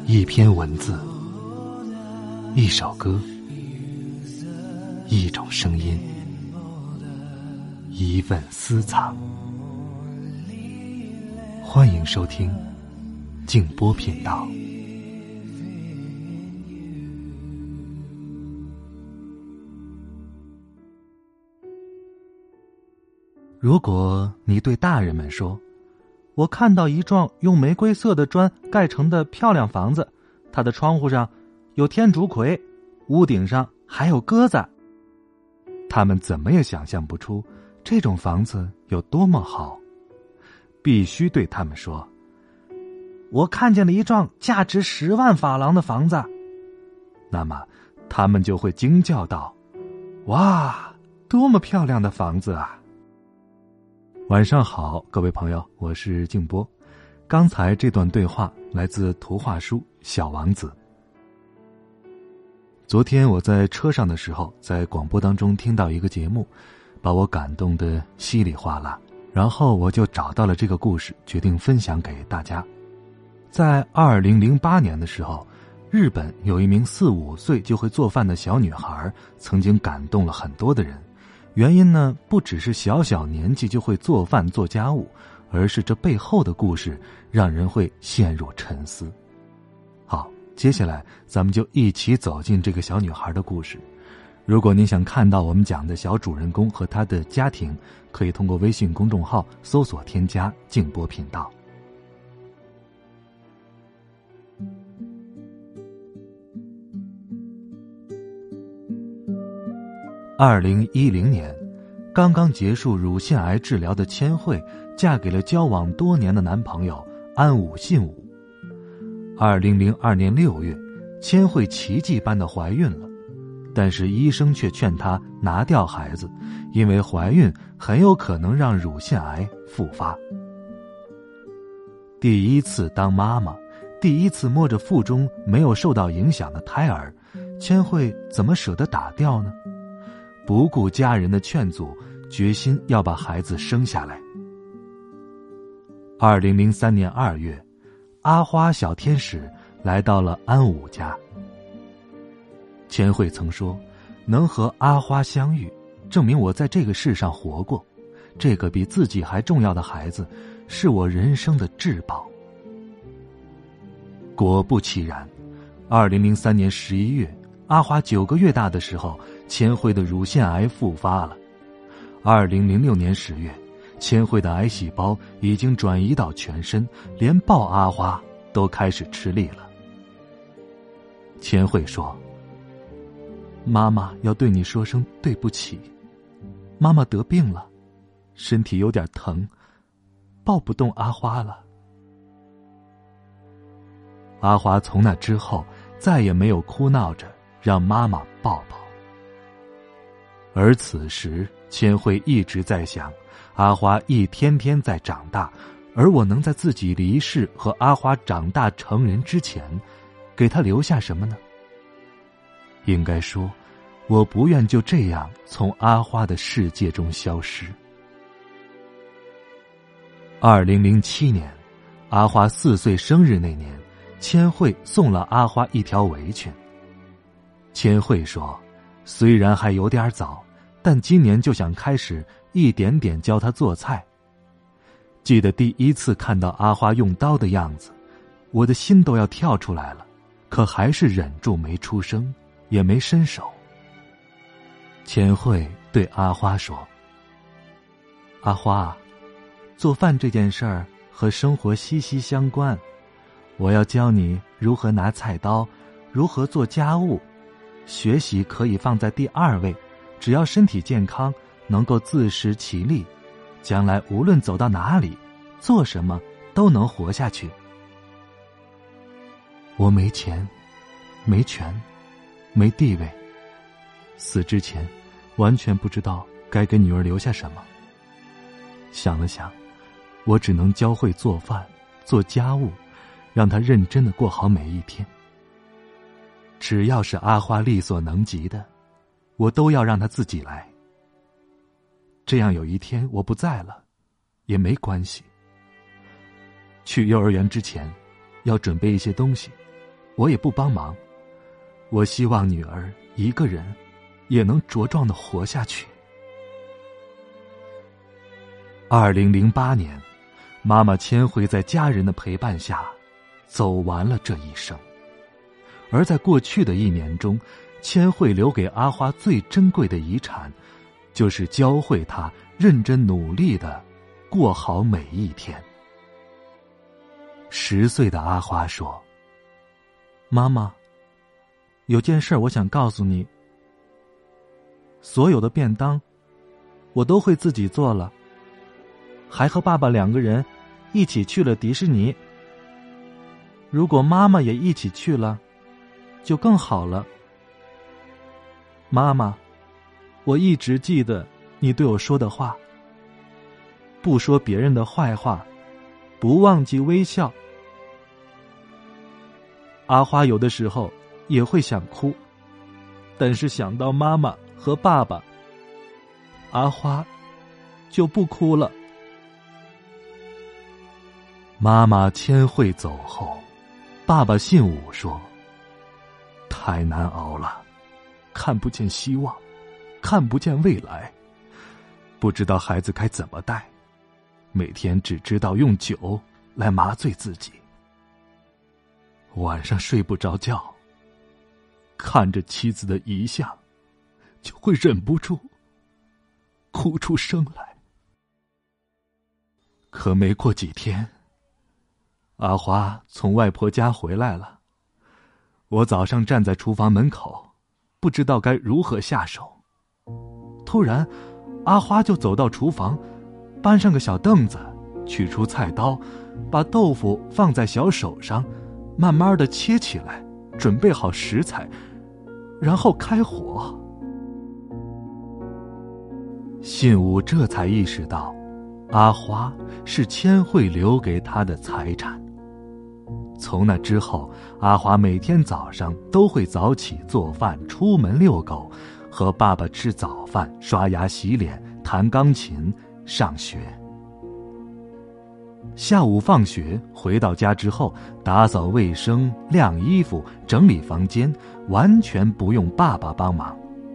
一篇文字，一首歌，一种声音，一份私藏。欢迎收听静波频道。如果你对大人们说，我看到一幢用玫瑰色的砖盖成的漂亮房子，它的窗户上有天竺葵，屋顶上还有鸽子，他们怎么也想象不出这种房子有多么好。必须对他们说，我看见了一幢价值10万法郎的房子，那么他们就会惊叫道，哇，多么漂亮的房子啊！晚上好，各位朋友，我是静波。刚才这段对话来自图画书《小王子》。昨天我在车上的时候，在广播当中听到一个节目，把我感动得稀里哗啦，然后我就找到了这个故事，决定分享给大家。在2008年的时候，日本有一名4、5岁就会做饭的小女孩，曾经感动了很多的人。原因呢，不只是小小年纪就会做饭做家务，而是这背后的故事让人会陷入沉思。好，接下来咱们就一起走进这个小女孩的故事。如果您想看到我们讲的小主人公和他的家庭，可以通过微信公众号搜索添加静波频道。2010年，刚刚结束乳腺癌治疗的千惠嫁给了交往多年的男朋友安武信武。2002年6月，千惠奇迹般的怀孕了，但是医生却劝她拿掉孩子，因为怀孕很有可能让乳腺癌复发。第一次当妈妈，第一次摸着腹中没有受到影响的胎儿，千惠怎么舍得打掉呢？不顾家人的劝阻，决心要把孩子生下来。2003年2月，阿花小天使来到了安武家。千惠曾说，能和阿花相遇，证明我在这个世上活过，这个比自己还重要的孩子，是我人生的至宝。果不其然，2003年11月，阿花9个月大的时候，千惠的乳腺癌复发了。2006年10月，千惠的癌细胞已经转移到全身，连抱阿花都开始吃力了。千惠说，妈妈要对你说声对不起，妈妈得病了，身体有点疼，抱不动阿花了。阿花从那之后再也没有哭闹着让妈妈抱抱。而此时千惠一直在想，阿花一天天在长大，而我能在自己离世和阿花长大成人之前，给她留下什么呢？应该说，我不愿就这样从阿花的世界中消失。2007年，阿花4岁生日那年，千惠送了阿花一条围裙。千惠说，虽然还有点早，但今年就想开始一点点教她做菜。记得第一次看到阿花用刀的样子，我的心都要跳出来了，可还是忍住没出声，也没伸手。千惠对阿花说，阿花，做饭这件事儿和生活息息相关，我要教你如何拿菜刀，如何做家务。学习可以放在第2位，只要身体健康，能够自食其力，将来无论走到哪里，做什么都能活下去。我没钱，没权，没地位，死之前完全不知道该给女儿留下什么。想了想，我只能教会做饭，做家务，让她认真地过好每一天。只要是阿花力所能及的，我都要让她自己来。这样有一天我不在了，也没关系。去幼儿园之前，要准备一些东西， 我也不帮忙。我希望女儿一个人也能茁壮地活下去。2008年，妈妈千惠在家人的陪伴下走完了这一生。而在过去的1年中，千惠留给阿花最珍贵的遗产，就是教会她认真努力地过好每一天。10岁的阿花说：妈妈，有件事我想告诉你，所有的便当我都会自己做了，还和爸爸2个人一起去了迪士尼。如果妈妈也一起去了，就更好了。妈妈，我一直记得你对我说的话，不说别人的坏话，不忘记微笑。阿花有的时候也会想哭，但是想到妈妈和爸爸，阿花就不哭了。妈妈千惠走后，爸爸信武说：太难熬了，看不见希望，看不见未来，不知道孩子该怎么带，每天只知道用酒来麻醉自己，晚上睡不着觉，看着妻子的遗像，就会忍不住哭出声来。可没过几天，阿花从外婆家回来了。我早上站在厨房门口，不知道该如何下手。突然，阿花就走到厨房，搬上个小凳子，取出菜刀，把豆腐放在小手上，慢慢地切起来，准备好食材，然后开火。信武这才意识到，阿花是千惠留给他的财产。从那之后，阿花每天早上都会早起做饭，出门遛狗，和爸爸吃早饭，刷牙洗脸，弹钢琴，上学。下午放学回到家之后，打扫卫生、晾衣服、整理房间，完全不用爸爸帮忙。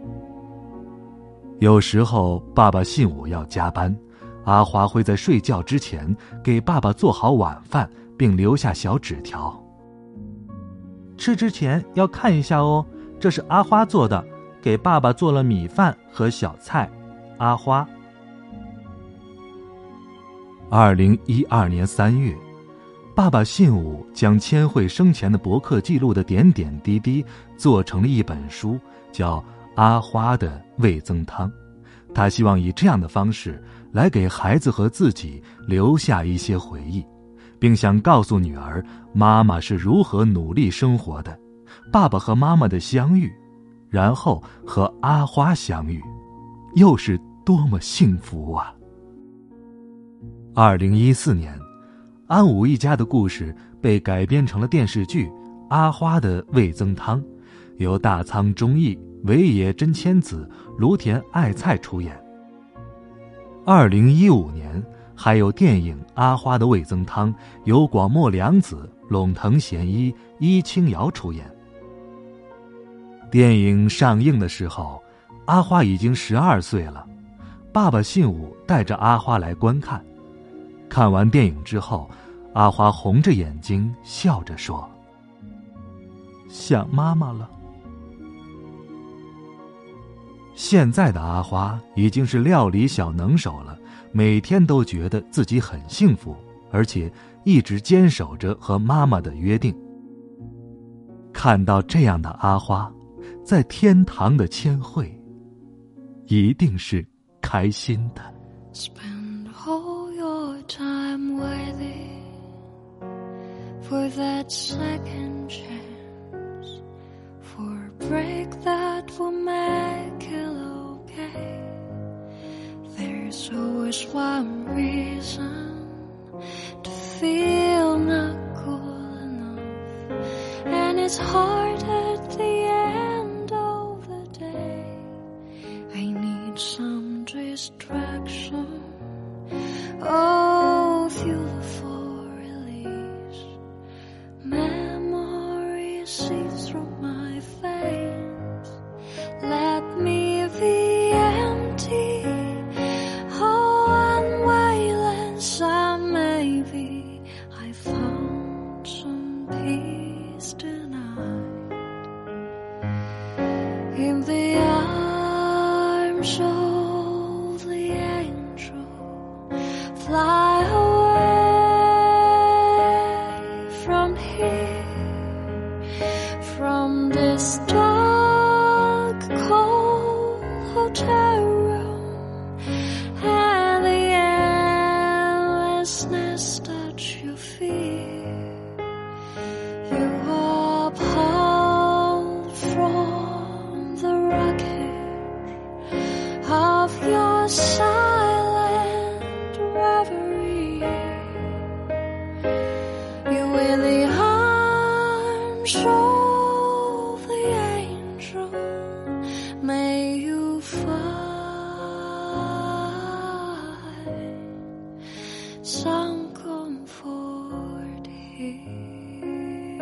有时候爸爸信武要加班，阿花会在睡觉之前给爸爸做好晚饭，并留下小纸条：吃之前要看一下哦，这是阿花做的，给爸爸做了米饭和小菜。阿花。2012年3月，爸爸信武将千惠生前的博客记录的点点滴滴做成了一本书，叫《阿花的味增汤》。他希望以这样的方式来给孩子和自己留下一些回忆，并想告诉女儿妈妈是如何努力生活的，爸爸和妈妈的相遇，然后和阿花相遇，又是多么幸福啊。2014年，安武一家的故事被改编成了电视剧《阿花的味增汤》，由大仓忠义、尾野真千子、芦田爱菜出演。2015年还有电影《阿花的味增汤》，由广末凉子、陇藤贤一、伊清瑶出演。电影上映的时候，阿花已经12岁了。爸爸信武带着阿花来观看。看完电影之后，阿花红着眼睛笑着说：想妈妈了。现在的阿花已经是料理小能手了，每天都觉得自己很幸福，而且一直坚守着和妈妈的约定。看到这样的阿花，在天堂的千惠一定是开心的。 Spend all your time waiting for that second chance, for a break that will make it okay. There's always one reason to feel not good enough, and it's hard at the end of the day. I need some distraction, oh, fuel for release, memory see through my veins. Let me be empty, oh, unwayless I may be. I found some peace tonight in the arms of the angel. Fly away from here, from this dark, cold hotel room, and the endlessness that you fear. You are pulled from the wreckage of your silent reverie. You in the arms of the angel, may you find some comfort here.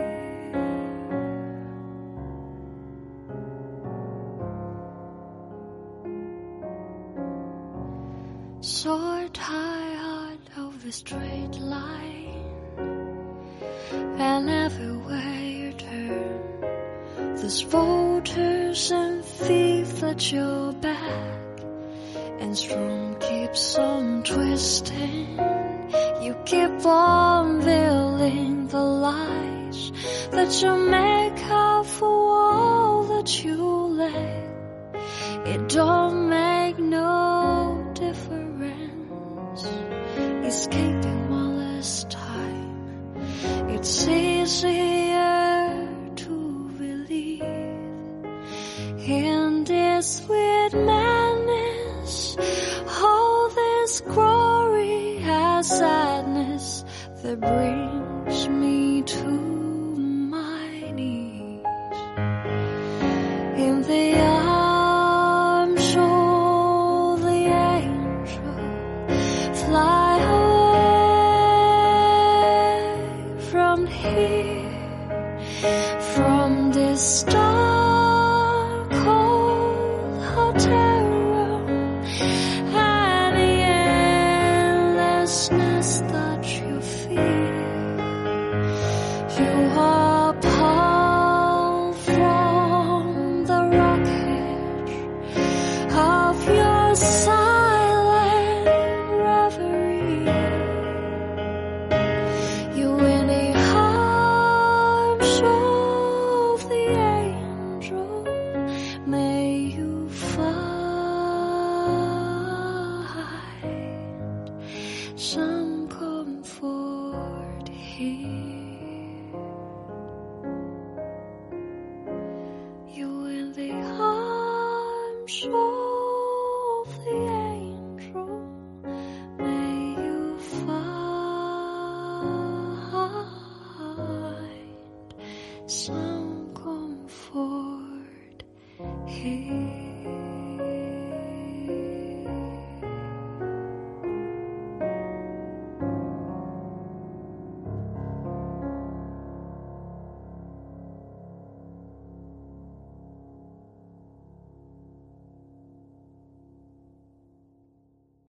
Soar tired of the straight line, and everywhere you turn, there's voters and thieves at your back, and storm keeps on twisting. You keep on building the lies that you make up for all that you lack. It don't make no difference, escaping one last time. It's easier to believe in this sweet madness, all this glory and sadness that brings me to my knees in the arms of the angel. Fly away from here, from this dark, cold hotel room, and the endlessness that you feel. You are pulled from the wreckage of your silent reverie. You in the arms of the angel, may you find some comfort here.